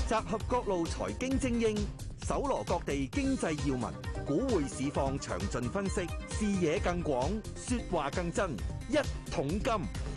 集合各路財經精英，搜羅各地經濟要聞，股匯市況詳盡分析，視野更廣，說話更真。一桶金。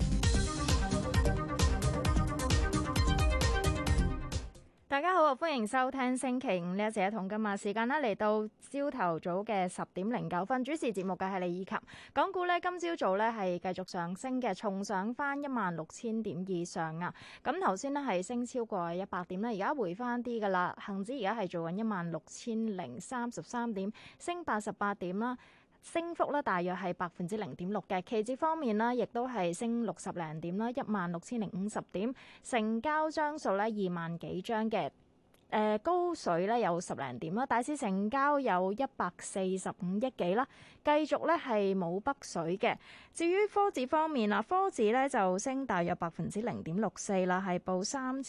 大家好，歡迎收聽星期五呢一節一桶金啊！時間呢嚟到朝頭早嘅10:09，主持節目嘅係李以琴。港股呢今朝早呢係繼續上升嘅，重上翻16,000點以上啊！咁頭先呢係升超過100點啦，而家回翻啲噶啦。恒指而家係做緊16,033點，升88點啦。升幅咧大約係0.6%嘅，期指方面呢亦都係升60零點啦，16,050點，成交張數咧2萬幾張嘅。高水咧有10零點啦，大市成交有145億幾啦，繼續咧係冇北水嘅。至於科指方面啊，科指咧就升大約0.64%啦，係報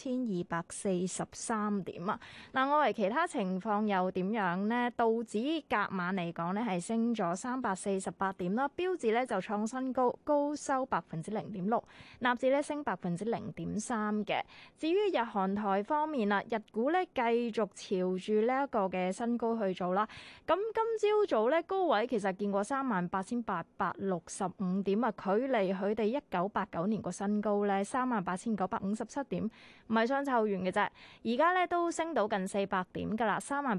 3243點啊。嗱，外圍其他情況又點樣呢？道指隔晚嚟講咧係升咗348點啦，標指咧就創新高，高收0.6%，納指咧升0.3%嘅。至於日韓台方面啦，日股咧繼續朝住呢一個嘅新高去做啦。咁今朝早咧高位其實見過38,865點啊，距離佢哋1989年個新高咧38,957點，唔係相差遠嘅啫。而家咧都升到近400點㗎啦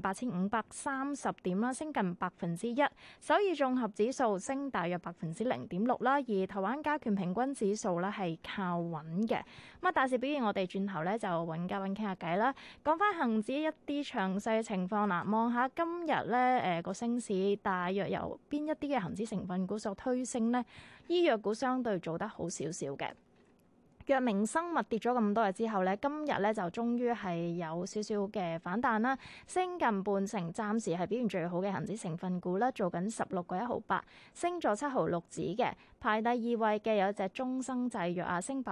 ，38,530點啦，升近1%。首爾綜合指數升大約0.6%啦，而台灣加權平均指數咧係靠穩嘅。咁啊，大市表現我哋轉頭咧就揾嘉賓傾下偈啦，講翻恒指一啲詳細嘅情況啦，望下今日咧個升市大約由邊一啲嘅恒指成分股所推升呢？醫藥股相對做得好少少嘅。藥明生物跌咗咁多日之後咧，今日咧就終於係有少少嘅反彈啦，升近半成，暫時係表現最好嘅恒指成分股啦，做緊16個1毫8，升咗7毫6子嘅。排第二位嘅有一隻中生製藥啊，升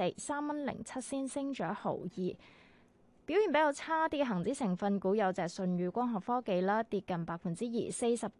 4%，3.07仙，升咗1毫2。表現比較差啲嘅恒指成分股有隻舜宇光學科技啦，跌近2%，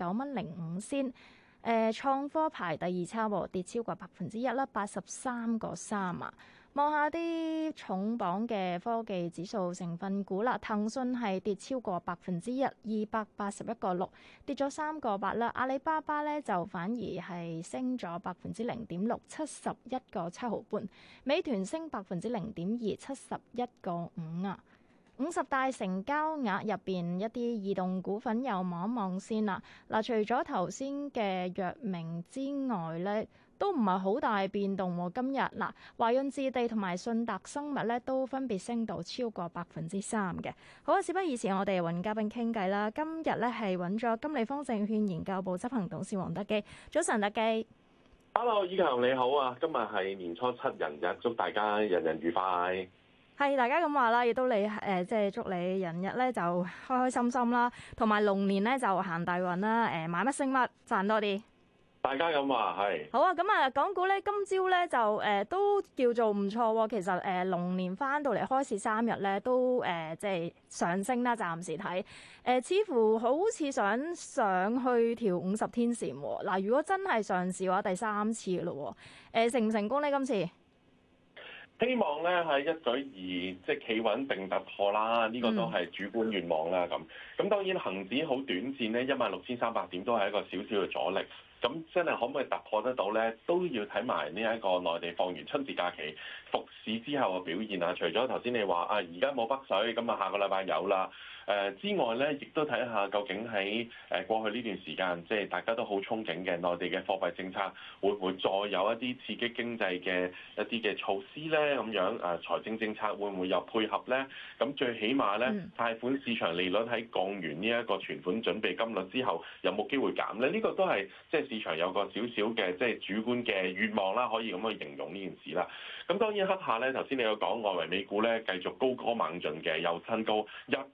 49.05仙。創科排第二差喎，跌超過1%啦，83個3啊。望下啲重磅嘅科技指數成分股啦，騰訊係跌超過1%， 281個6，跌咗3個8啦。阿里巴巴咧就反而係升咗0.6%， 71個7毫半。美團升0.2%， 71個5啊。50大成交額入邊一啲異動股份又望一望先啦。嗱，除咗頭先嘅藥明之外咧，都唔係好大變動喎。今日嗱，華潤置地同埋信達生物咧都分別升到超過3%嘅。好啊，事不宜遲，我哋揾嘉賓傾偈啦。今日咧係揾咗金利豐證券研究部執行董事黃德基。早晨，德基。 Hello， 以強你好啊！今日係年初7人日，祝大家人人愉快。 係大家咁話啦，亦都你即係祝你人日咧就開開心心啦，同埋龍年咧就行大運啦，買乜升乜，賺多啲。 大家咁話係。 好啊，咁啊，港股咧今朝咧就都叫做唔錯喎。其實龍年翻到嚟開市3日咧都即係上升啦，暫時睇似乎好似想上去條50天線喎。嗱，如果真係上市嘅話，第3次嘅咯喎，成唔成功咧今次？ 希望咧係一舉而即係企穩並突破啦，呢個都係主觀願望啦。咁當然恆指好短線咧，16,300點都係一個少少嘅阻力。咁真係可唔可以突破得到咧？都要睇埋呢一個內地放完春節假期復市之後嘅表現啊。除咗頭先你話啊，而家冇北水，咁啊下個禮拜有啦。之外咧，亦都睇下究竟喺過去呢段時間，即係大家都好憧憬嘅內地嘅貨幣政策，會唔會再有一啲刺激經濟嘅一啲嘅措施咧？咁樣財政政策會唔會又配合咧？咁最起碼咧，貸款市場利率喺降完呢一個存款準備金率之後，有冇機會減咧？呢個都係即係市場有個少少嘅即係主觀嘅願望啦，可以咁去形容呢件事啦。咁當然黑下咧，頭先你有講外圍美股咧繼續高歌猛進嘅，又新高，日股又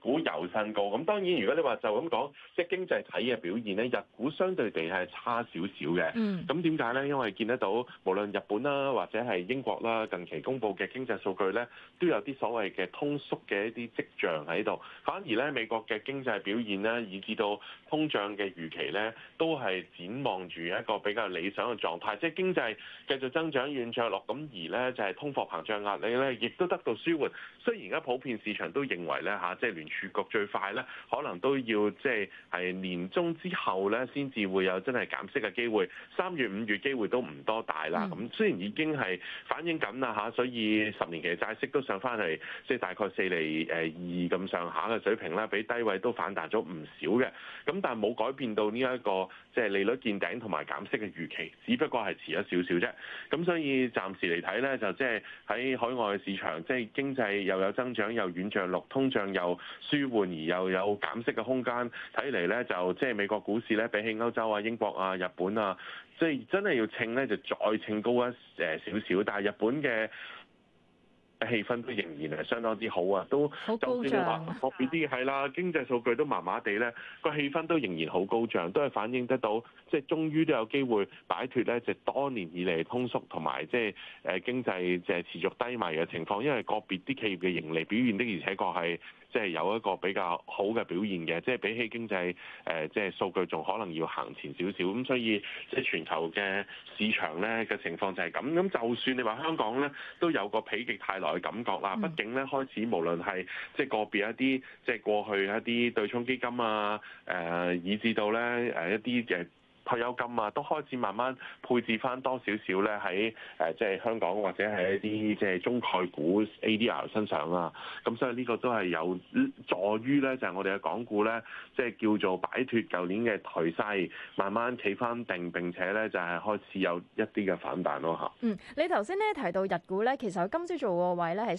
新高。咁當然如果你話就咁講，即係經濟體嘅表現咧，日股相對地係差少少嘅。咁點解咧？因為見得到無論日本啦或者係英國啦，近期公布嘅經濟數據咧，都有啲所謂嘅通縮嘅一啲跡象喺度。反而咧美國嘅經濟表現咧，以至到通脹嘅預期咧，都係展望住一個比較理想嘅狀態，即係經濟繼續增長軟着陸，咁而咧就係通貨膨脹壓力咧，亦都得到舒緩。雖然而家普遍市場都認為咧嚇，即係聯儲局最快咧，可能都要即係年中之後咧，先至會有真係減息嘅機會。3月、5月機會都唔多大啦。咁雖然已經係反映緊啦嚇，所以10年期嘅債息都上翻嚟，即係大概4厘2咁上下嘅水平啦，比低位都反彈咗唔少嘅。咁但係冇改變到呢一個即係利率見頂同埋減息嘅預期，只不過係遲咗少少啫。咁所以暫時嚟睇咧，就即係喺海外嘅市場，即係經濟又有增長又軟着陸，通脹又舒緩而又有減息嘅空間。睇嚟咧就即係美國股市咧，比起歐洲啊、英國啊、日本啊，即係真係要稱咧就再稱高一少少。但係日本嘅氣氛都仍然係相當之好啊，都就算你話個別啲係啦，經濟數據都麻麻地咧，個氣氛都仍然好高漲，都係反映得到即係終於都有機會擺脱咧，就多年以嚟通縮同埋即係經濟即係持續低迷嘅情況，因為個別啲企業嘅盈利表現的而且確係即係有一個比較好嘅表現嘅，即係比起經濟即係數據仲可能要行前少少，咁所以即係全球嘅市場咧嘅情況就係咁。咁就算你話香港咧都有個否極泰來嘅感覺啦，畢竟咧開始無論係即係個別一啲即係過去一啲對沖基金啊，以至到咧一啲嘅退休金啊，都開始慢慢配置翻多少少咧喺即係香港或者係一啲即係中概股 ADR 身上啊。咁所以呢個都係有助於咧，就係我哋嘅港股咧，即係叫做擺脱舊年嘅頹勢，慢慢企翻定，並且咧就係開始有一啲嘅反彈咯嚇。 你頭先咧提到日股咧，其實今朝做個位咧係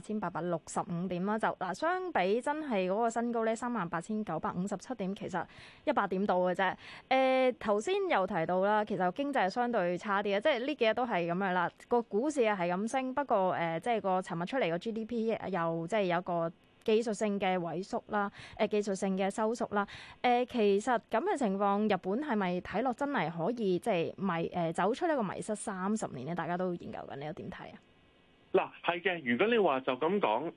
38,865點啦，就嗱相比真係嗰個新高咧38,957點，其實100點到嘅啫。頭先又提到啦，其實經濟係相對差啲嘅，即係呢幾日都係咁樣啦。個股市係咁升，不過即係個尋日出嚟個 GDP 又即係有個技術性嘅萎縮啦，技術性嘅收縮啦。其實咁嘅情況，日本係咪睇落真係可以即係走出呢個迷失30年咧？大家都研究緊，你又點睇啊？ 嗱，係嘅。如果你話就咁講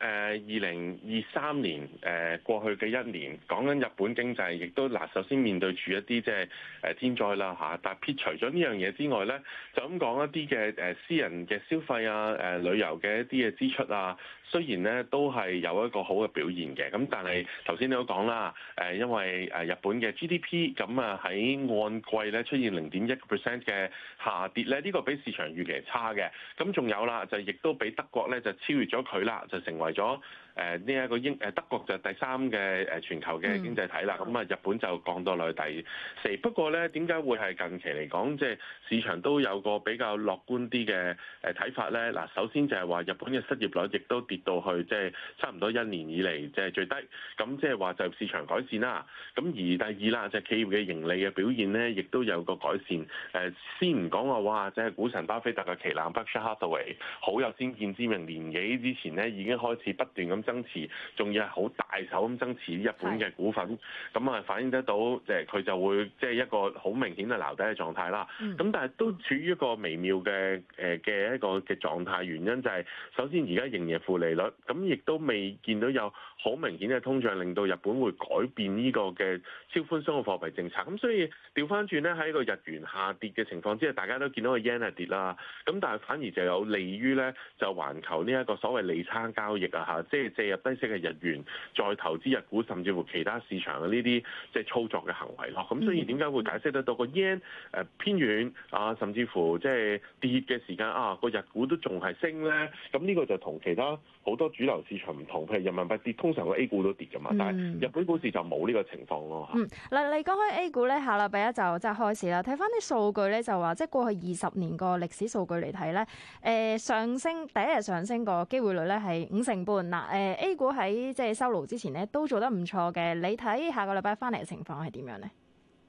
，2023年過去嘅一年，講緊日本經濟，亦都首先面對住一啲即係天災啦嚇。但係撇除咗呢樣嘢之外咧，就咁講一啲嘅私人嘅消費啊、旅遊嘅一啲嘅支出啊，雖然咧都係有一個好嘅表現嘅。咁但係頭先你都講啦，因為日本嘅 GDP 咁啊喺按季咧出現0.1% 嘅下跌咧，呢個比市場預期係差嘅。咁仲有啦，就亦都比德國咧就超越咗佢啦，就成為咗呢一個德國就第3嘅全球嘅經濟體啦。咁啊日本就降到落去第4。不過咧，點解會係近期嚟講，即係市場都有個比較樂觀啲嘅睇法咧？嗱，首先就係話日本嘅失業率亦都跌到去即係差唔多1年以嚟即係最低。咁即係話就市場改善啦。咁而第二啦，就係企業嘅盈利嘅表現咧，亦都有個改善。先唔講話哇，即係股神巴菲特嘅旗艦 Berkshire Hathaway 好有先見之明，年幾之前咧已經開始不斷咁增持，仲要係好大手咁增持日本嘅股份，咁啊反映得到即係佢就會即係一個好明顯嘅撈底嘅狀態啦。咁但係都處於一個微妙嘅一個嘅狀態，原因就係首先而家仍然負利率，咁亦都未見到有好明顯嘅通脹，令到日本會改變呢個嘅超寬鬆嘅貨幣政策。咁所以調翻轉咧，喺個日元下跌嘅情況之下，大家都見到個 yen 係跌啦。咁但係反而就有利於咧，就環球呢一個所謂利差交易啊嚇，即係借入低息嘅日元，再投資日股，甚至乎其他市場嘅呢啲即係操作嘅行為咯。咁所以點解會解釋得到個 yen 偏軟啊，甚至乎即係跌嘅時間啊，個日股都仲係升咧？咁呢個就同其他好多主流市場唔同，譬如人民幣跌，通常個 A 股都跌㗎嘛，但係日本股市就冇呢個情況咯嚇。 嗱，你講開 A 股咧，下禮拜一就即係開始啦。睇翻啲數據咧，就話即係過去20年個歷史數據嚟睇咧，上升第一日上升個機會率咧係50%半。嗱，A 股喺即係收爐之前咧都做得唔錯嘅。你睇下個禮拜翻嚟嘅情況係點樣咧？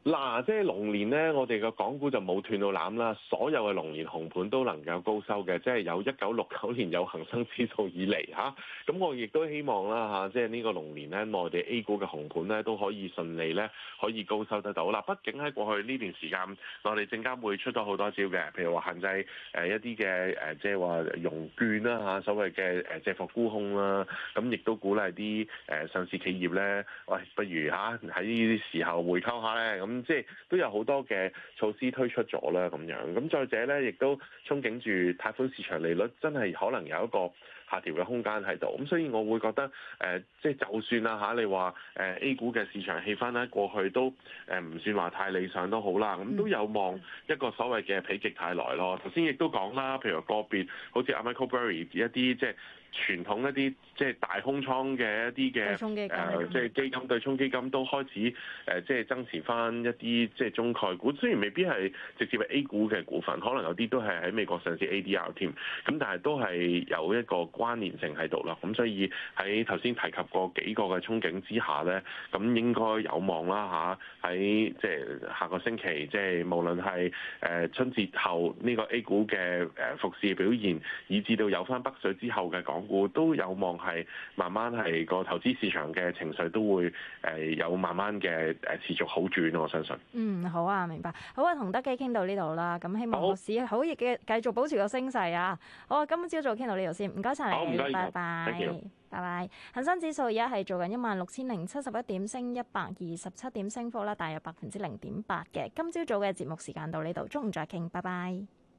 嗱，即係龍年咧，我哋個港股就冇斷到攬啦，所有嘅龍年紅盤都能夠高收嘅，即係由1969年有恒生指數以嚟嚇。咁我亦都希望啦嚇，即係呢個龍年咧，內地 A 股嘅紅盤咧都可以順利咧可以高收得到啦。畢竟喺過去呢段時間，內地證監會出咗好多招嘅，譬如話限制一啲嘅即係話融券啦嚇，所謂嘅借貨沽空啦，咁亦都鼓勵啲上市企業咧，喂，不如嚇喺呢啲時候回溝下咧，咁即係都有好多嘅措施推出咗啦，咁樣。咁再者咧，亦都憧憬住貸款市場利率真係可能有一個下調嘅空間喺度。咁所以我會覺得即係就算啦嚇，你話A 股嘅市場氣氛咧，過去都唔算話太理想都好啦，咁都有望一個所謂嘅否極泰來咯。頭先亦都講啦，譬如個別好似阿 Michael Burry 一啲即係傳統一啲即係大空倉嘅一啲嘅即係基金對沖基金都開始即係增持翻一啲即係中概股，雖然未必係直接係 A 股嘅股份，可能有啲都係喺美國上市 ADR 添，咁但係都係有一個關聯性喺度咯。咁所以喺頭先提及過幾個嘅憧憬之下咧，咁應該有望啦嚇，喺即係下個星期，即係無論係春節後呢個 A 股嘅復市表現，以至到有翻北水之後嘅港股都有望係慢慢係個投資市場嘅情緒都會有慢慢嘅持續好轉，我相信。 好啊，明白。好啊，同德基傾到呢度啦。咁希望個市好亦嘅繼續保持個升勢啊。好啊，今朝早傾到呢度先，唔該晒你，拜拜。拜拜。恒生指數而家係做緊16,071點，升127點，升幅啦，大約0.8%嘅。今朝早嘅節目時間到呢度，中午再傾，拜拜。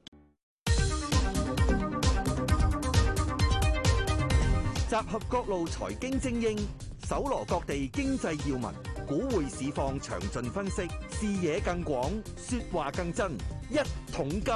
集合各路財經精英，搜羅各地經濟要聞，股匯市況詳盡分析，視野更廣，說話更真。一桶金。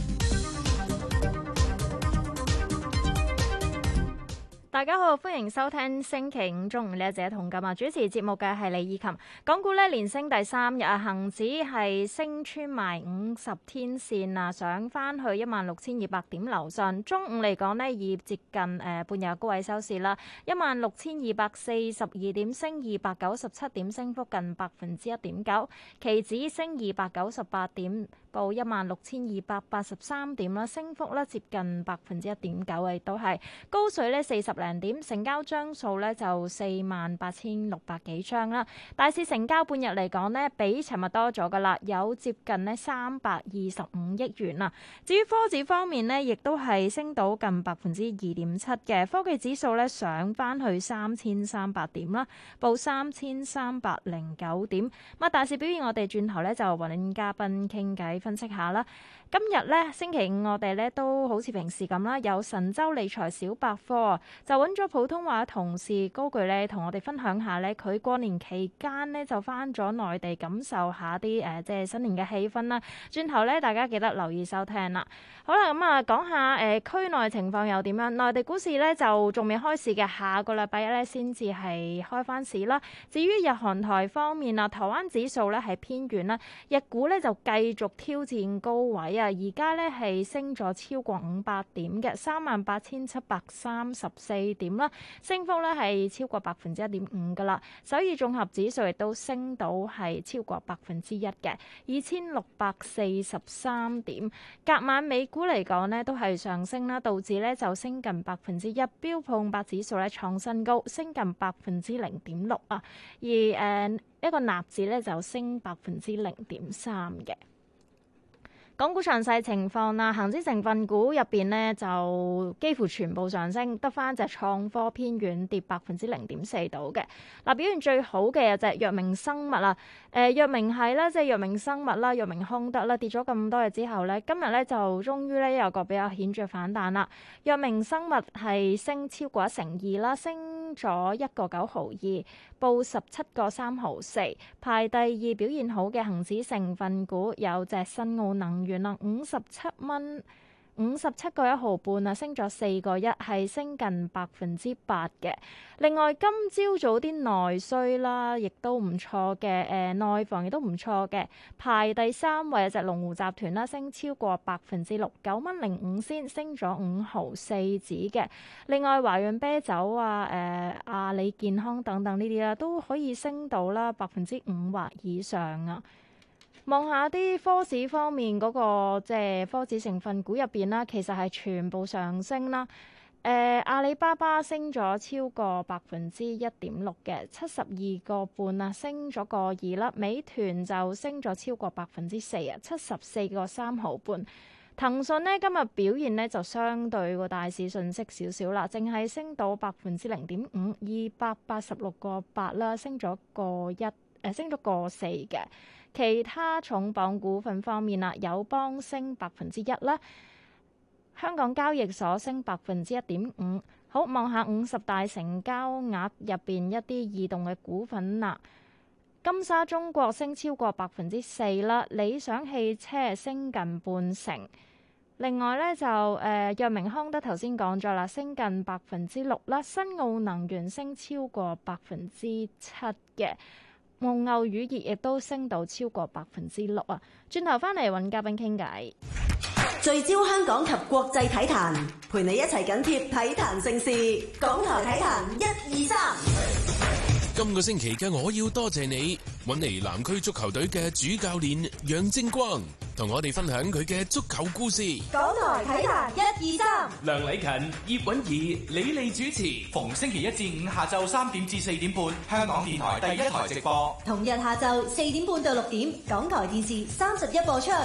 大家好，歡迎收聽星期五中午呢一節同今日主持節目嘅係李以琴。港股咧連升第3日啊，恒指係升穿埋50天線啊，上翻去16,200點樓上。中午嚟講呢，以接近半日高位收市啦，16,242點，升297點，升幅近1.9%。期指升298點，報16,283點啦，升幅咧接近1.9%，亦都係高水咧40零點，成交張數咧就48,600幾張啦。大市成交半日嚟講呢，比尋日多咗噶啦，有接近呢325億元啊。至於科指方面呢，亦都係升到近2.7%嘅，科技指數咧上翻去3,300點啦，報3,309點。咁大市表現，我哋轉頭咧就揾嘉賓傾偈分析下啦。今日咧星期五，我哋咧都好似平時咁啦，有神州理財小百科就揾咗普通話同事高炬咧，同我哋分享下咧，佢過年期間咧就翻咗內地感受下啲即係新年嘅氣氛啦。轉頭咧，大家記得留意收聽啦。好啦，咁啊講下區內情況又點樣？內地股市咧就仲未開市嘅，下個禮拜一咧先至係開翻市啦。至於日韓台方面啊，台灣指數咧係偏軟啦，日股咧就繼續挑戰高位啊，而家咧係升咗超過500點嘅38,734點啦，升幅咧係超過1.5%噶啦。首爾綜合指數亦都升到係超過1%嘅2,643點。隔晚美股嚟講呢都係上升啦，道指咧就升近1%，標普500指數咧創新高，升近0.6%啊，而一個納指咧就升0.3%嘅。港股詳細情況啦，恒指成分股入邊呢就幾乎全部上升，得翻隻創科偏軟跌0.4%到嘅。嗱，表現最好嘅有隻藥明生物啦，藥明係啦，即係藥明生物啦，藥明康德啦，跌咗咁多日之後咧，今日咧就終於咧有個比較顯著反彈啦。藥明生物係升超過1.2%啦，升咗1.9毫2，報17.3毫4，排第2。表現好嘅恒指成分股有隻新奧能源啦，57.1毫半啊，升咗4.1，係升近8%嘅。另外今朝早啲內需啦，亦都唔錯嘅，內房亦都唔錯嘅，排第3位有隻龍湖集團啦，升超過6%，9.05，升咗5毫4子嘅。另外華潤啤酒啊、阿里健康等等呢啲啦，都可以升到啦5%或以上啊。 望下啲科指方面嗰個即係科指成分股入邊啦，其實係全部上升啦。阿里巴巴升咗超過1.6%嘅，72.5啊，升咗個2啦。美團就升咗超過4%啊，74.3毫半。騰訊呢今日表現呢就相對個大市遜色少少啦，淨係升到0.5%，286.8啦，升咗升咗個4嘅。其他重磅股份方面啦，友邦升1%啦。香港交易所升1.5%。好，望下50大成交額入邊一啲異動嘅股份啦。金沙中國升超過4%啦，理想汽車升近半成。另外咧就藥明康德頭先講咗啦，升近6%啦。新奧能源升超過7%嘅。蒙牛乳業亦都升到超過6%啊。轉頭翻嚟揾嘉賓傾偈。 聚焦香港及國際體壇，陪你一齊緊貼體壇盛事。港台體壇1、2、3。 今個星期嘅我要多謝你，搵嚟南區足球隊嘅主教練楊正光，同我哋分享佢嘅足球故事。 港台體壇1、2、3。 梁禮勤、葉韻儀、李利主持，逢星期1至5下晝3點至4點半，香港電台第1台直播。 同日下晝4點半到6點，港台電視31播出。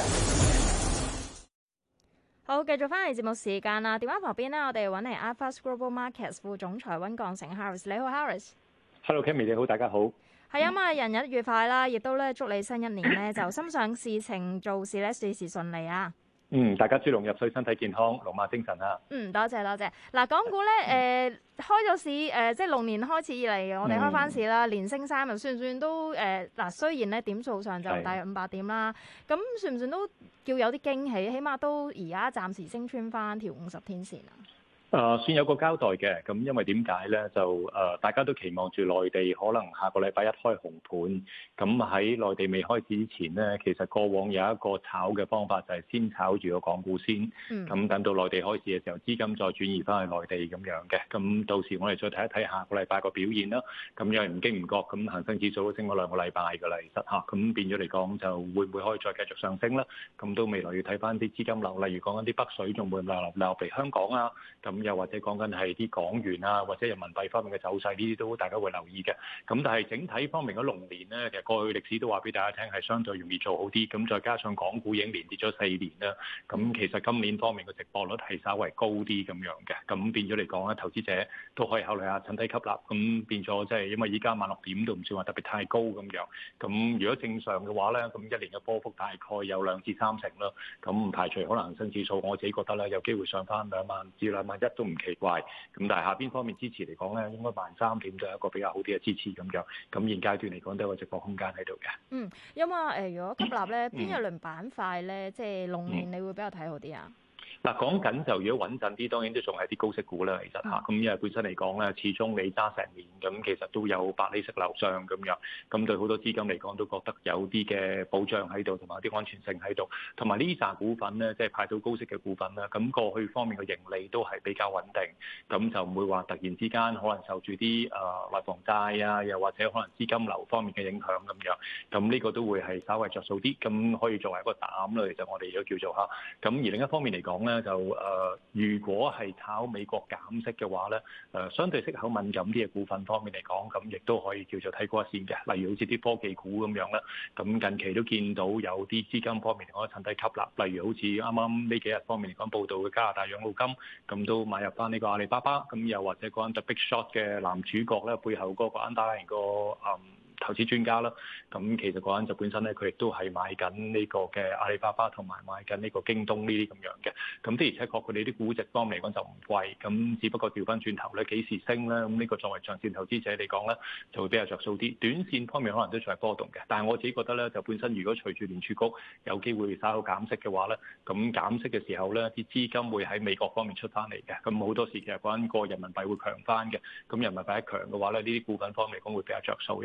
好，繼續翻嚟節目時間啦。電話旁邊呢，我哋揾嚟 iFAST Global Markets 副總裁溫鋼城 Harris。你好 Harris。Hello，Cammy 你好，大家好。 係啊嘛，人日愉快啦，亦都咧祝你新一年咧就心想事成，做事咧事事順利啊！ 大家豬籠入水，身體健康，龍馬精神啊！ 多謝多謝。嗱，港股咧開咗市即係龍年開始以嚟，我哋開翻市啦，連升3日，算唔算都雖然咧點數上就大約500點啦，咁算唔算都叫有啲驚喜？起碼都而家暫時升穿翻條50天線啊！ 算有個交代嘅，咁因為點解咧？就大家都期望住內地可能下個禮拜一開紅盤，咁喺內地未開始之前咧，其實過往有一個炒嘅方法就係先炒住個港股先，咁等到內地開市嘅時候，資金再轉移翻去內地咁樣嘅，咁到時我哋再睇一睇下個禮拜個表現啦。咁因為唔經唔覺，咁恆生指數都升咗2個禮拜㗎啦，其實嚇，咁變咗嚟講就會唔會可以再繼續上升啦？咁到未來要睇翻啲資金流，例如講緊啲北水仲會流嚟香港啊，咁又或者講緊係啲港元啊，或者人民幣方面嘅走勢，呢啲都大家會留意嘅。咁但係整體方面嘅龍年呢，其實過去歷史都話俾大家聽係相對容易做好啲。咁再加上港股已經連跌咗4年啦，咁其實今年方面嘅值博率係稍為高啲咁樣嘅。咁變咗嚟講咧，投資者都可以考慮下趁低吸納。咁變咗即係因為依家16點都唔算話特別太高咁樣。咁如果正常嘅話咧，咁一年嘅波幅大概有2至3成啦。咁唔排除可能恒生指數我自己覺得咧有機會上翻2萬至2萬1都唔奇怪，咁但係下邊方面支持嚟講咧，應該13000點都係一個比較好啲嘅支持咁樣。咁現階段嚟講都有個直播空間喺度嘅。 因為如果吸納咧，邊一輪板塊咧，即係龍年你會比較睇好啲啊？ 嗱，講緊就如果穩陣啲，當然都仲係啲高息股啦，其實嚇。咁因為本身嚟講咧，始終你揸成年，咁其實都有8厘息樓上咁樣，咁對好多資金嚟講都覺得有啲嘅保障喺度，同埋啲安全性喺度。同埋呢紮股份咧，即係派到高息嘅股份啦，咁過去方面嘅盈利都係比較穩定，咁就唔會話突然之間可能受住啲內房債啊，又或者可能資金流方面嘅影響咁樣。咁呢個都會係稍微着數啲，咁可以作為一個膽啦。其實我哋都叫做嚇。咁而另一方面嚟講咧，就如果係炒美國減息嘅話咧，相對息口敏感啲嘅股份方面嚟講，咁亦都可以叫做睇過一線嘅，例如好似啲科技股咁樣啦。咁近期都見到有啲資金方面可以趁低吸納，例如好似啱啱呢幾日方面嚟講報道嘅加拿大養老金，咁都買入翻呢個阿里巴巴，咁又或者嗰間 The Big Short 嘅男主角咧，背後嗰個 underlying 個投資專家啦，咁其實嗰陣就本身咧，佢亦都係買緊呢個嘅阿里巴巴同埋買緊呢個京東呢啲咁樣嘅，咁的而且確佢哋啲估值方面嚟講就唔貴，咁只不過調翻轉頭咧幾時升咧，咁呢個作為長線投資者嚟講咧，就會比較着數啲。短線方面可能都仲係波動嘅，但係我自己覺得咧，就本身如果隨住聯儲局有機會稍後減息嘅話咧，咁減息嘅時候咧，啲資金會喺美國方面出翻嚟嘅，咁好多時其實嗰陣個人民幣會強翻嘅，咁人民幣一強嘅話咧，呢啲股份方面嚟講會比較着數，尤其是嗰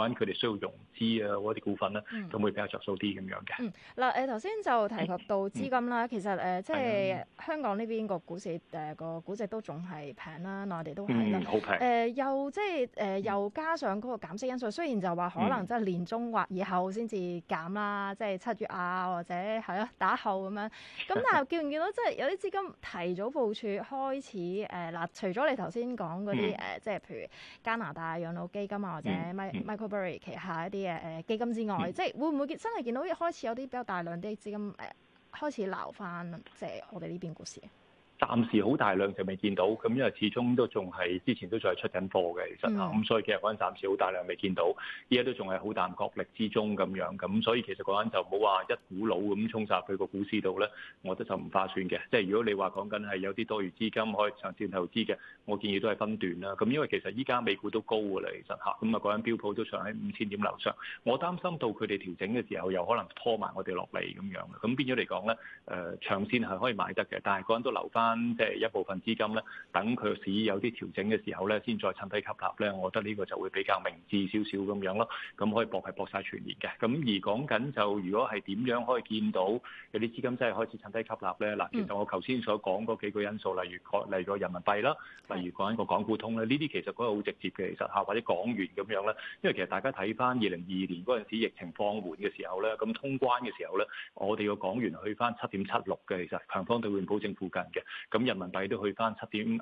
講緊佢哋需要融資啊嗰啲股份咧，咁會比較着數啲咁樣嘅。 嗱頭先就提及到資金啦，其實即係香港呢邊個股市個估值都仲係平啦，內地都係啦， 好平。 又即係又加上嗰個減息因素，雖然就話可能即係年中或以後先至減啦，即係7月啊或者係咯打後咁樣。咁但係見唔見到即係有啲資金提早部署開始嗱，除咗你頭先講嗰啲即係譬如加拿大養老基金啊或者 Michael Burry 旗下一啲嘅基金之外，即係會唔會真係見到開始有啲比較大量啲資金開始撈翻即係我哋呢邊股市？ 暫時好大量就未見到，咁因為始終都仲係之前都仲係出緊貨嘅，其實咁所以其實嗰陣暫時好大量未見到，依家都仲係好淡角力之中咁樣，咁所以其實嗰陣就冇話一股腦咁衝殺去個股市度咧，我覺得就唔划算嘅。即係如果你話講緊係有啲多餘資金可以長線投資嘅，我建議都係分段啦。咁因為其實依家美股都高㗎啦，其實嚇，咁啊嗰陣標普都上喺5000點樓上，我擔心到佢哋調整嘅時候又可能拖埋我哋落嚟咁樣，咁變咗嚟講咧，長線係可以買得嘅，但係嗰陣都留翻即係一部分資金咧，等佢個市有啲調整嘅時候咧，先再趁低吸納咧，我覺得呢個就會比較明智少少咁樣咯。咁可以搏晒全年嘅。咁而講緊就如果係點樣可以見到有啲資金真係開始趁低吸納咧？嗱，其實我頭先所講嗰幾個因素，例如個人民幣啦，例如講緊個港股通咧，呢啲其實嗰個好直接嘅，其實嚇或者港元咁樣咧。因為其實大家睇翻2022年嗰陣時疫情放緩嘅時候咧，咁通關嘅時候咧，我哋個港元去翻7.76嘅，其實強方兌換保證附近嘅。咁人民幣都去翻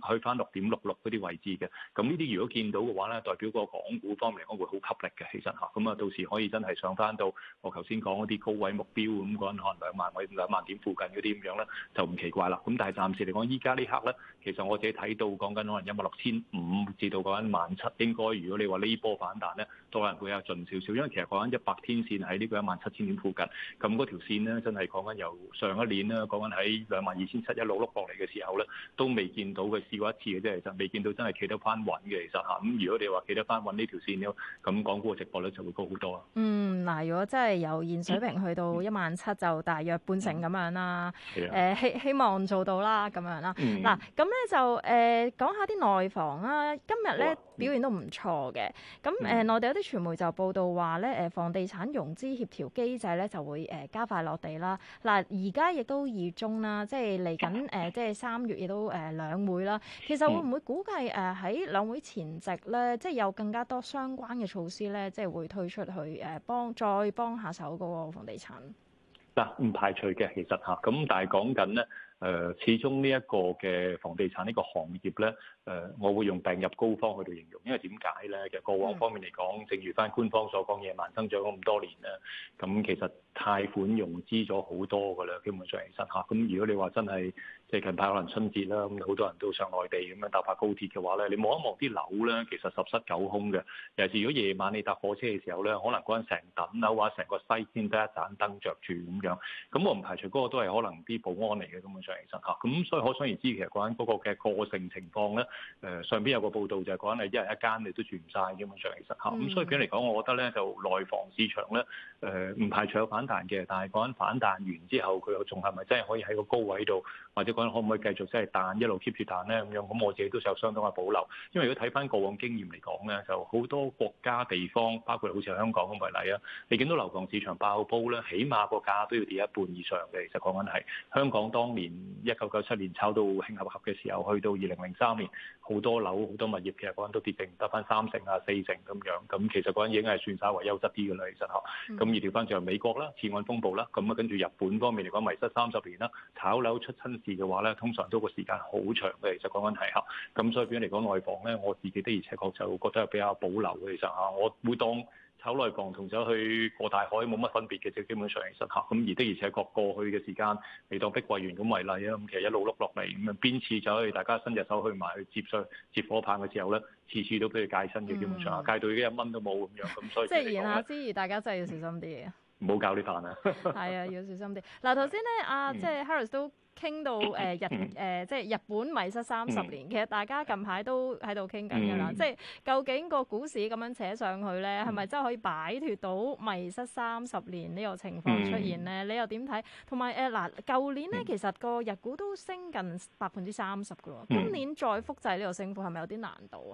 6.66嗰啲位置嘅，咁呢啲如果見到嘅話咧，代表個港股方面嚟講會好吸力嘅，其實嚇，咁啊到時可以真係上翻到我頭先講嗰啲高位目標咁嗰陣可能2萬點附近嗰啲咁樣咧，就唔奇怪啦。咁但係暫時嚟講，依家呢刻咧，其實我自己睇到講緊可能16500至到嗰陣17000，應該如果你話呢波反彈咧，都可能會有盡少少，因為其實講緊100天線喺呢個17000點附近，咁嗰條線咧真係講緊由上一年咧講緊喺22700一路碌落嚟嘅時候咧，都未見到佢試過一次嘅啫，其實未見到真係企得翻穩嘅，其實嚇。咁如果你話企得翻穩呢條線咧，咁港股嘅值博率就會高好多啊。嗱， 如果真係由現水平去到17000，就大約半成咁樣啦。希望做到啦，咁樣啦。嗱，咁咧就講下啲內房啦。今日咧表現都唔錯嘅。咁內地有啲傳媒就報道話咧，房地產融資協調機制咧就會加快落地啦。嗱，而家亦都2月中啦，即係嚟緊即係3月亦都兩會啦。其實會唔會估計喺兩會前夕咧，即係有更加多相關嘅措施咧，即係會推出去再幫下手嗰個房地產？ 嗱，唔排除嘅，其實嚇。咁但係講緊咧。始終呢一個嘅房地產呢個行業咧，我會用病入膏肓去到形容，因為點解咧？其實過往方面嚟講，正如翻官方所講，野蠻增長咗咁多年啦，咁其實貸款融資咗好多㗎啦，基本上其實嚇。咁如果你話真係即係近排可能春節啦，咁好多人都上內地咁樣搭下高鐵嘅話咧，你望一望啲樓咧，其實十室九空嘅。尤其是如果夜晚你搭火車嘅時候咧，可能嗰陣成棟樓或者成個西先得一盞燈着住咁樣。咁我唔排除嗰個都係可能啲保安嚟嘅，根本上。其實嚇，咁所以可想而知，其實講緊嗰個嘅個性情況咧，上邊有個報道就係講緊係一人一間你都住唔晒，基本上其實嚇，咁所以嚟講，我覺得咧就內房市場咧，唔排除有反彈嘅，但係講緊反彈完之後，佢又仲係咪真係可以喺個高位度，或者講緊可唔可以繼續即係彈一路 keep 住彈咧咁樣？咁我自己都有相當嘅保留，因為如果睇翻過往經驗嚟講咧，就好多國家地方，包括好似香港咁為例啊，你見到樓房市場爆煲咧，起碼個價都要跌一半以上嘅。其實講緊係香港當年1997年炒到興合合嘅時候，去到2003年，好多樓好多物業其實講緊都跌定得翻3成啊4成咁樣，咁其實嗰陣已經係算稍為優質啲嘅啦，其實嚇。咁而調翻就係美國啦，次按風暴啦，咁啊跟住日本方面嚟講迷失30年啦，炒樓出親事嘅話咧，通常都個時間好長嘅，其實講緊係嚇。咁所以變咗嚟講內房咧，我自己的而且確就覺得係比較保留嘅，其實嚇。我會當炒內房同走去過大海冇乜分別嘅啫，基本上其實嚇。咁而的而且確過去嘅時間，你當碧桂園咁為例啊，咁其實一路碌落嚟，咁啊邊次走去大家伸隻手去埋去接火棒嘅時候咧，次次都俾佢戒身嘅，基本上戒到已經1蚊都冇咁樣，咁所以即係言下之意，大家真係要小心啲嘅。 唔好搞呢飯啊！ 係啊，要小心啲。嗱，頭先咧，即係 Harris 都傾到即係日本迷失30年，其實大家近排都喺度傾緊㗎啦。即係究竟個股市咁樣扯上去咧，係咪真係可以擺脱到迷失30年呢個情況出現咧？你又點睇？同埋嗱，舊年咧其實個日股都升近30%㗎喎，今年再複製呢個升幅係咪有啲難度啊？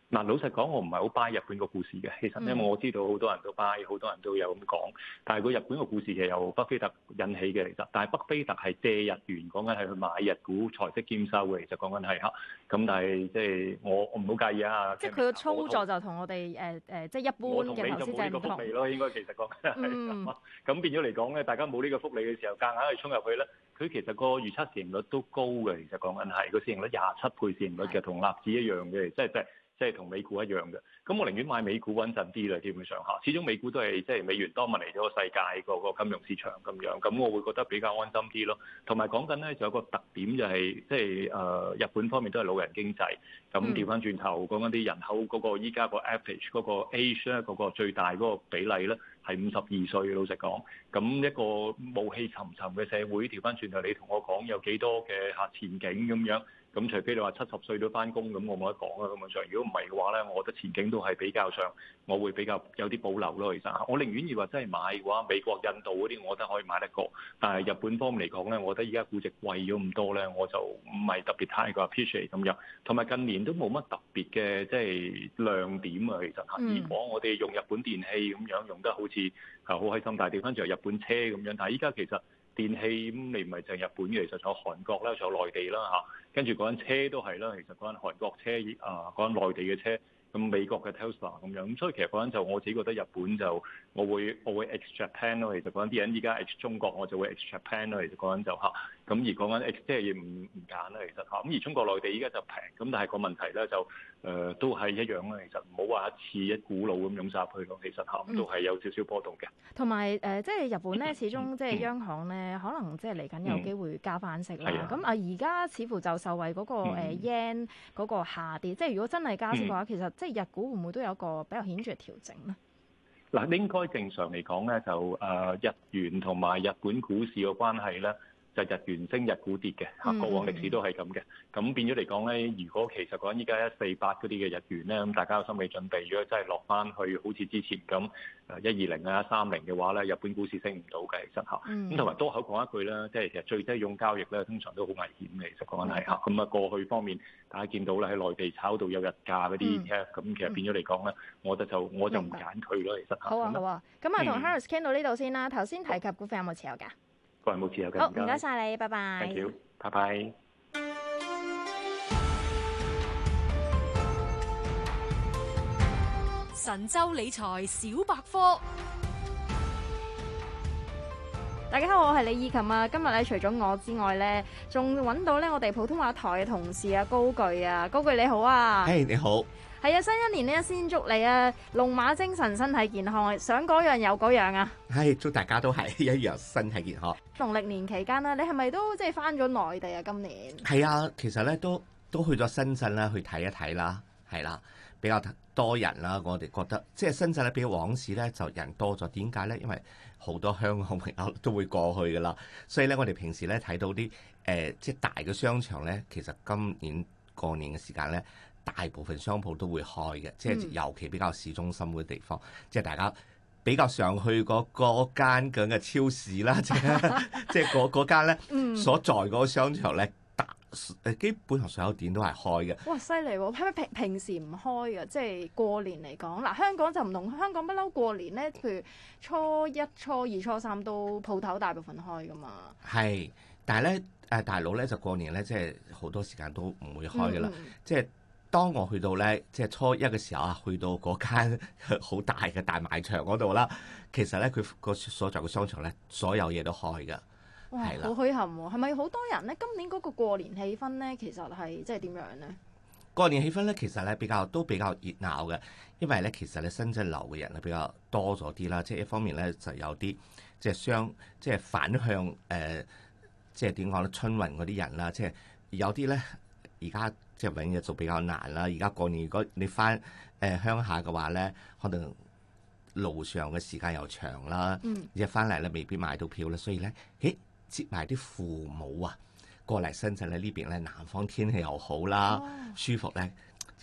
嗱，老實講，我唔係好 buy 日本個故事嘅。其實因為我知道好多人都 buy，好多人都有咁講。但係個日本個故事其實由巴菲特引起嘅，其實。但係巴菲特係借日元，講緊係去買日股，財息兼收嘅。其實講緊係嚇。咁但係即係我唔好介意啊。 即係佢個操作就同我哋即係一般嘅投資者唔同。我同你就冇呢個福利咯，應該其實講緊係咁變咗嚟講咧，大家冇呢個福利嘅時候，夾硬去衝入去咧，佢其實個預測市盈率都高嘅。其實講緊係個市盈率27倍市盈率嘅，同納指一樣嘅，即係同美股一樣嘅，咁我寧願買美股穩陣啲啦，基本上嚇，始終美股都係即係美元多嚟咗個世界個金融市場咁樣，咁我會覺得比較安心啲咯。同埋講緊咧，仲有個特點就係即係日本方面都係老人經濟，咁調翻轉頭講緊啲人口嗰個依家個 average 嗰個 age 咧，嗰個最大嗰個比例咧係52歲，老實講，咁一個暮氣沉沉嘅社會，調翻轉頭你同我講有幾多嘅前景咁樣。咁除非你話70歲都翻工，咁我冇得講啊。根本上，如果唔係嘅話咧，我覺得前景都係比較上，我會比較有啲保留咯。其實，我寧願要話真係買嘅話，美國、印度嗰啲，我覺得可以買得過。但係日本方面嚟講咧，我覺得依家估值貴咗咁多咧，我就唔係特別太過 appreciate 咁樣。同埋近年都冇乜特別嘅即係亮點啊。其實，如果我哋用日本電器咁樣用得好似好開心，但係調翻轉日本車咁樣，但係依家其實。電器咁你唔係淨係日本嘅，其實仲有韓國啦，仲有內地啦嚇，跟住嗰間車都係啦，其實嗰間韓國車嗰間內地嘅車，咁美國嘅 Tesla 咁樣，咁所以其實嗰陣就我自己覺得日本就我會 ex Japan 咯，其實嗰陣啲人依家 ex 中國，我就會 ex Japan 咯，其實嗰陣就嚇，咁而講緊 ex 即係唔揀啦，其實嚇，咁而中國內地依家就平，咁但係個問題咧就都係一樣啦，其實唔好話一次一股腦咁湧曬入去咯，其實嚇都係有少少波動嘅。 同埋即係日本咧，始終即係央行咧，可能即係嚟緊有機會加翻息啦。咁而家似乎就受惠嗰個yen 嗰個下跌，即係如果真係加息嘅話，其實即係日股會唔會都有個比較顯著嘅調整咧？ 嗱，應該正常嚟講咧，就日元同埋日本股市嘅關係咧。就日元升日股跌嘅嚇，過往歷史都係咁嘅。咁變咗嚟講咧，如果其實講依家148嗰啲嘅日元咧，咁大家有心理準備。如果真係落翻去好似之前咁120啊130嘅話咧，日本股市升唔到嘅，其實嚇。咁同埋多口講一句啦，即係其實最低佣交易咧，通常都好危險嘅。其實講緊係嚇。咁啊過去方面，大家見到咧喺內地炒到有日價嗰啲咁其實變咗嚟講咧，我覺得我就唔揀佢咯。其實好啊好啊，咁啊同 Harris 傾到呢度先啦。頭先提及股份有冇持有㗎？ 個人冇持有嘅。 好，唔該晒你，拜拜。 Thank you，拜拜。 神州理財小百科。 大家好，我係李以琴啊。今日咧除咗我之外咧，仲揾到咧我哋普通話台嘅同事啊，高炬啊，高炬你好啊。 誒你好。 係啊，新一年咧先祝你啊龍馬精神、身體健康，想嗰樣有嗰樣啊。 係，祝大家都係一樣身體健康。 農曆年期間啦，你係咪都即係翻咗內地啊？今年係啊，其實咧都去咗深圳啦，去睇一睇啦，係啦，比較多人啦。我哋覺得即係深圳咧比往時咧就人多咗，點解咧？因為好多香港朋友都會過去噶啦，所以咧我哋平時咧睇到啲即係大嘅商場咧，其實今年過年嘅時間咧。大部分商鋪都會開嘅，即係尤其比較市中心嘅地方，即係大家比較常去嗰間咁嘅超市啦，即係嗰間咧所在嗰個商場咧，基本上所有店都係開嘅。 哇，犀利喎！係咪平時唔開嘅？即係過年嚟講，嗱香港就唔同，香港不嬲過年咧，譬如初一、初二、初三都鋪頭大部分開噶嘛。係， 但係咧大陸咧就過年咧，即係好多時間都唔會開噶啦，即係。當我去到咧，即係初一嘅時候啊，去到嗰間好大嘅大賣場嗰度啦，其實咧佢個所在嘅商場咧，所有嘢都開㗎。 哇，好墟冚喎！係咪好多人咧？今年嗰個過年氣氛咧，其實係即係點樣咧？ 過年氣氛咧，其實咧比較熱鬧嘅，因為咧其實咧深圳流嘅人咧比較多咗啲啦，即係一方面咧就有啲即係反向即係點講咧春運嗰啲人啦，即係有啲咧而家。即係永遠就比較難啦！而家過年如果你翻鄉下嘅話咧，可能路上嘅時間又長啦，而翻嚟咧未必買到票啦，所以咧，接埋啲父母啊過嚟深圳咧呢邊咧南方天氣又好啦，舒服咧，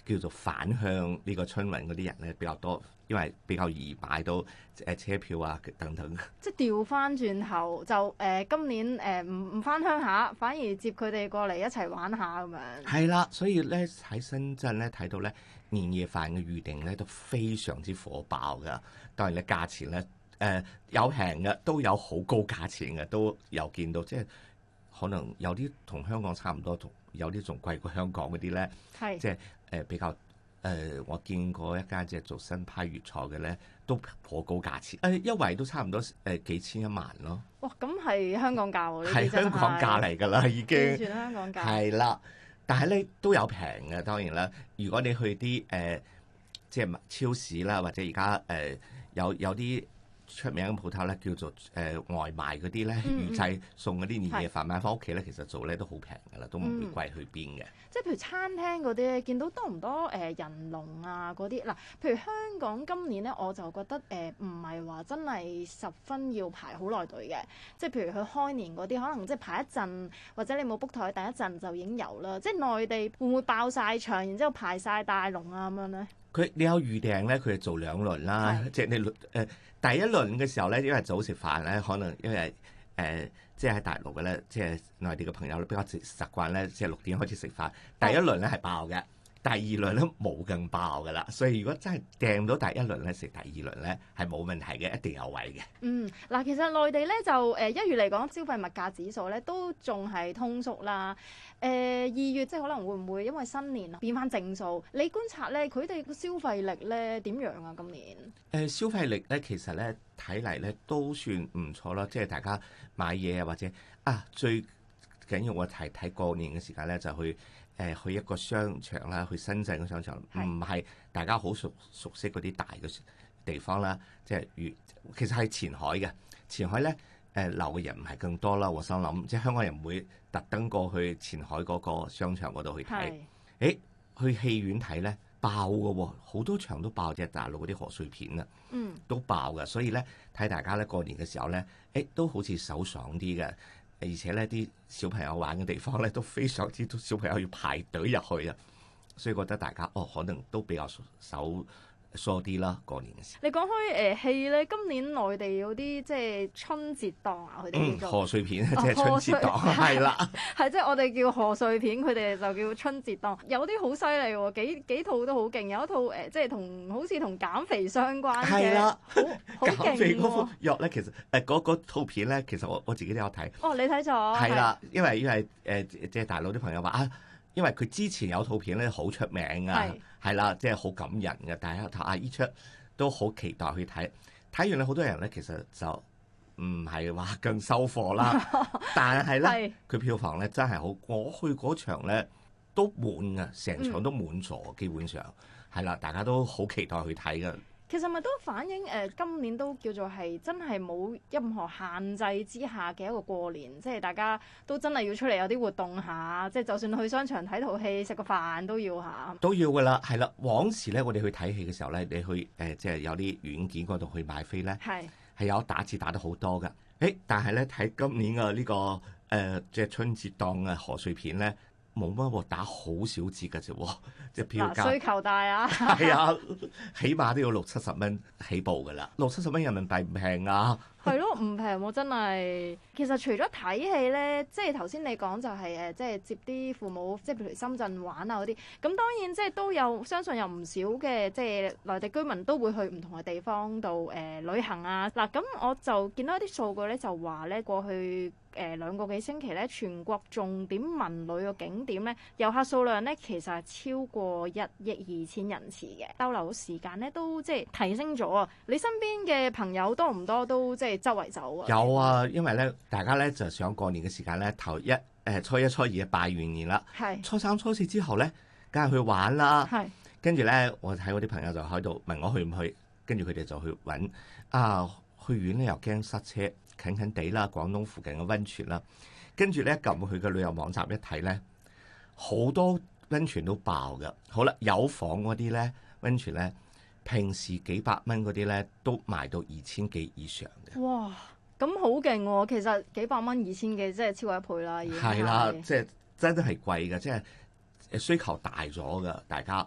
叫做返鄉呢個春運嗰啲人咧比較多，因為比較易買到車票啊等等。 即係調翻轉頭就今年唔翻鄉下，反而接佢哋過嚟一齊玩下咁樣。 係啦，所以咧喺深圳咧睇到咧年夜飯嘅預訂咧都非常之火爆㗎。當然咧價錢咧有平嘅，都有好高價錢嘅，都有見到，即係可能有啲同香港差唔多，同有啲仲貴過香港嗰啲咧。係即係比較我見過一間即係做新派粵菜嘅咧，都頗高價錢，一圍都差唔多幾千1萬咯。 哇！咁係香港價喎，呢啲係香港價嚟㗎啦，已經完全香港價。 係啦，但係咧都有平嘅，當然啦。如果你去啲即係超市啦，或者而家有啲出名嘅鋪頭咧，叫做外賣嗰啲咧，預製送嗰啲年夜飯買翻屋企咧，其實做咧都好平㗎啦，都唔會貴去邊嘅。 即係譬如餐廳嗰啲咧，見到多唔多人龍啊嗰啲嗱？譬如香港今年咧，我就覺得唔係話真係十分要排好耐隊嘅。即係譬如佢開年嗰啲，可能即係排一陣，或者你冇 book 台，第一陣就已經有啦。即係內地會唔會爆晒場，然之後排晒大龍啊咁樣咧？ 你有預訂咧，佢係做2輪啦。即係你第一輪嘅時候咧，因為早食飯咧，可能因為即係喺大陸嘅咧，即係內地嘅朋友比較習慣咧，即係6點開始食飯。第一輪咧係爆嘅，第二輪咧冇咁爆㗎啦。所以如果真係訂到第一輪咧，食第二輪咧係冇問題嘅，一定有位嘅。 嗱，其實內地咧就1月嚟講，消費物價指數咧都仲係通縮啦。2月即係可能會唔會因為新年變翻正數？你觀察咧，佢哋個消費力咧點樣啊？今年消費力咧，其實咧睇嚟咧都算唔錯啦。即係大家買嘢啊，或者最緊要我睇過年嘅時間咧，就去一個商場啦，去深圳嘅商場，唔係大家好熟悉嗰啲大嘅地方啦。即係其實係前海嘅，前海咧留嘅人唔係更多啦。我心諗，即係香港人唔會特登過去前海嗰個商場嗰度去睇。去戲院睇咧爆嘅喎，好多場都爆，即係大陸嗰啲賀歲片啊，都爆嘅。所以咧睇大家咧過年嘅時候咧，都好似手爽啲嘅。而且咧啲小朋友玩嘅地方咧都非常之多小朋友要排隊入去啊，所以覺得大家可能都比較手疏啲啦。過年嘅時候， 你講開戲咧，今年內地有啲即係春節檔啊，佢哋叫做賀歲片，即係春節檔，係啦， 係即係我哋叫賀歲片，佢哋就叫春節檔。有啲好犀利喎，幾套都好勁，有一套即係好似同減肥相關嘅，係啦，好勁喎。減肥嗰副藥咧，其實嗰套片咧，其實我自己都有睇。 你睇咗？係啦，因為即係大陸啲朋友話因為佢之前有套片咧好出名啊，係啦，即係好感人嘅。但係依出都好期待去睇。睇完咧，好多人咧其實就唔係話更收貨啦，但係咧佢票房咧真係好。我去嗰場咧都滿啊，成場都滿座，基本上係啦，大家都好期待去睇㗎。 其實咪都反映今年都叫做係真係冇任何限制之下嘅一個過年，即係大家都真係要出嚟有啲活動下，即係就算去商場睇套戲食個飯都要下。 都要㗎啦，係啦。往時咧，我哋去睇戲嘅時候咧，你去即係有啲軟件嗰度去買飛咧，係有打折打得好多㗎。但係咧睇今年嘅呢個即係春節檔嘅賀歲片咧，冇乜喎，打好少折㗎啫喎，即係票價。 需求大啊！ 係啊，起碼都要60-70蚊起步㗎啦，60-70蚊人民幣唔平啊！ 係咯，唔平喎，真係。其實除咗睇戲咧，即係頭先你講就係即係接啲父母，即係譬如深圳玩啊嗰啲。咁當然即係都有，相信有唔少嘅即係內地居民都會去唔同嘅地方度旅行啊。嗱，咁我就見到一啲數據咧，就話咧過去2個幾星期咧，全國重點文旅嘅景點咧，遊客數量咧其實係超過1億2千人次嘅，逗留時間咧都即係提升咗啊！你身邊嘅朋友多唔多都即係周圍走啊？ 有啊，因為咧大家咧就想過年嘅時間咧，初一初二拜完年啦，初三初四之後咧，梗係去玩啦。跟住咧，我睇我啲朋友就喺度問我去唔去，跟住佢哋就去揾去遠咧又驚塞車。近近地啦，廣東附近嘅溫泉啦，跟住咧撳佢嘅旅遊網站一睇咧，好多溫泉都爆㗎。好啦，有房嗰啲咧溫泉咧，平時幾百蚊嗰啲咧都賣到2000幾以上嘅。 哇，咁好勁喎！其實幾百蚊2000幾，即係超過1倍啦，已經係。 係啦，即係真係貴㗎，即係需求大咗㗎，大家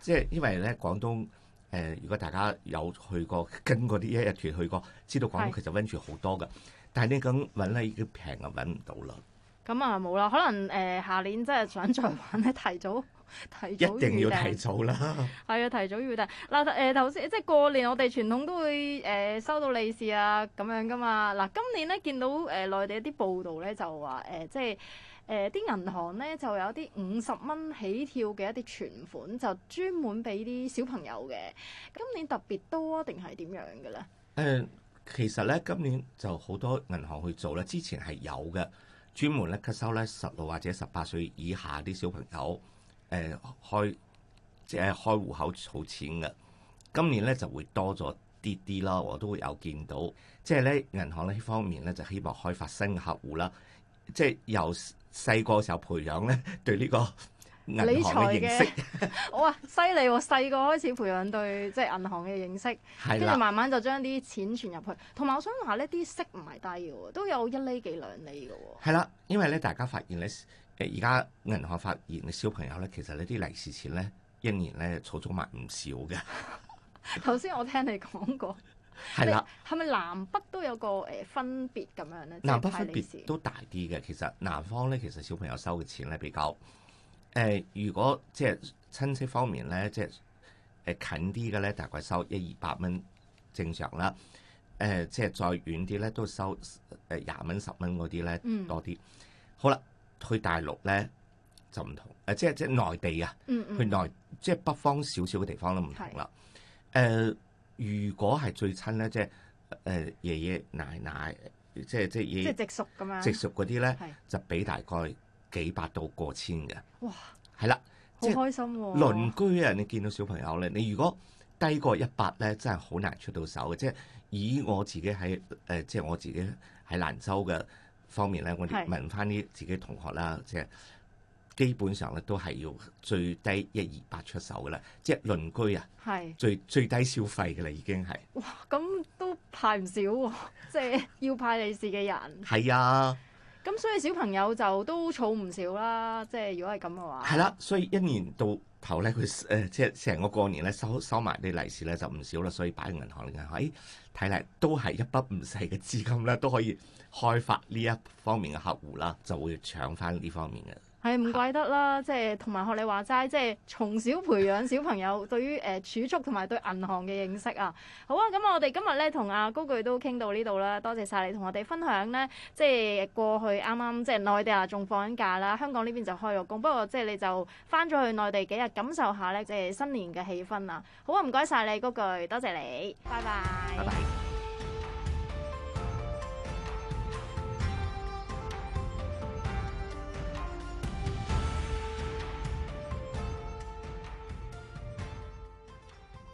即係因為咧廣東如果大家有去過跟嗰啲一日團去過，知道廣東其實溫泉好多㗎，但係你咁揾咧已經平啊揾唔到啦。 咁啊冇啦，可能下年真係想再玩咧，提早一定要提早啦。 係啊，提早預訂嗱頭先即係過年，我哋傳統都會收到利是啊咁樣噶嘛。嗱今年咧見到內地一啲報道咧就話即係啲銀行咧就有啲50蚊起跳嘅一啲存款，就專門俾啲小朋友嘅。今年特別多啊，定係點樣嘅咧？ 其實咧今年就好多銀行去做咧，之前係有嘅，專門咧吸收咧16或者18歲以下啲小朋友。開戶口儲錢嘅，今年咧就會多咗啲啦，我都會有見到。即係咧銀行呢方面咧就希望開發新客戶啦，即係由細個時候培養咧對呢個銀行嘅認識。 哇，犀利喎！細個開始培養對即係銀行嘅認識，跟住慢慢就將啲錢存入去。同埋我想話呢啲息唔係低嘅喎，都有1厘幾2厘嘅喎。 係啦，因為咧大家發現咧。而家銀行發現嘅小朋友咧，其實呢啲利是錢咧，一年咧儲咗埋唔少嘅。 頭先我聽你講過， 係啦， 係咪南北都有個分別咁樣咧？ 南北分別都大啲嘅。其實南方咧，其實小朋友收嘅錢咧比較如果即係親戚方面咧，即係近啲嘅咧，大概收100-200蚊正常啦。即係再遠啲咧，都收20蚊10蚊嗰啲咧多啲。好啦。去大陸咧就唔同，即係內地啊，去內即係北方少少嘅地方都唔同啦。如果係最親咧，即係爺爺奶奶，即係直屬咁樣， 直屬嗰啲咧就俾大概幾百到過千嘅。哇！係啦， 好開心喎！ 鄰居啊，你見到小朋友咧，你如果低過100咧，真係好難出到手嘅。即係以我自己喺即係我自己喺蘭州嘅方面咧，我哋問翻啲自己同學啦，即係基本上咧都係要最低100-200出手嘅啦，即係鄰居啊，最低消費嘅啦，已經係。 哇！咁都派唔少喎，即係要派利是嘅人。 係啊。 咁所以小朋友就都儲唔少啦，即係如果係咁嘅話。 係啦，所以一年到頭咧，佢即係成個過年咧收埋啲利是咧就唔少啦，所以擺喺銀行睇嚟都係一筆唔細嘅資金咧，都可以開發呢一方面嘅客戶啦，就會搶翻呢方面嘅。 係唔怪得啦，即係同埋學你話齋，即係從小培養小朋友對於儲蓄同埋對銀行嘅認識啊。好啊，咁我哋今日咧同阿高炬都傾到呢度啦，多謝晒你同我哋分享咧，即係過去啱啱即係內地啊仲放緊假啦，香港呢邊就開咗工，不過即係你就翻咗去內地幾日感受下咧，即係新年嘅氣氛啊。好啊，唔該晒你高炬，多謝你，拜拜。 拜拜。